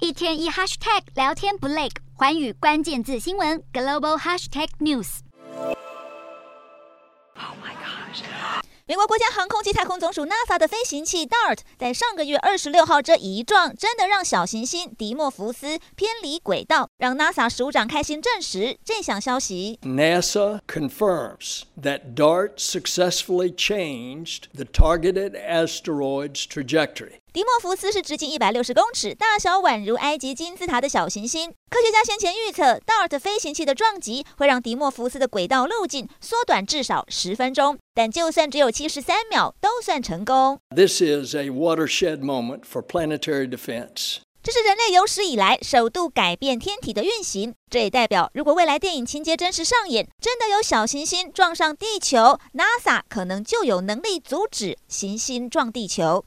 一天一 hashtag 聊天不累，寰宇關鍵字新聞 Global Hashtag News。 美國國家航空及太空總署 NASA 的飞行器 DART 在上個月26號這一撞，真的讓小行星迪莫福斯偏離軌道，讓 NASA 署長開心證實這項消息。 NASA confirms that DART successfully changed the targeted asteroid's trajectory. 迪莫福斯是直徑160公尺、大小宛如埃及金字塔的小行星。科學家先前預測 ，DART 飛行器的撞擊會讓迪莫福斯的軌道路徑縮短至少10分鐘，但就算只有73秒，都算成功。 This is a watershed moment for planetary defense. 這是人類有史以來首度改變天體的運行，這也代表，如果未來電影情節真實上演，真的有小行星撞上地球 ，NASA 可能就有能力阻止行星撞地球。